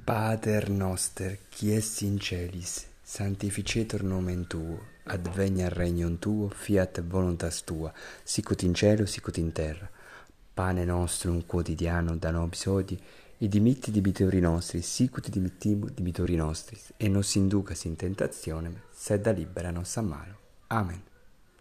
Pater noster, qui es in celis, sanctificetur nomen tuo, adveniat regnum tuo, fiat voluntas tua, sicut in cielo, sicut in terra. Pane nostrum quotidianum da nobis hodie, et dimitti debitori nostri, sicut dimittimus debitori nostris, et nos inducas in tentationem, sed libera nos a malo. Amen.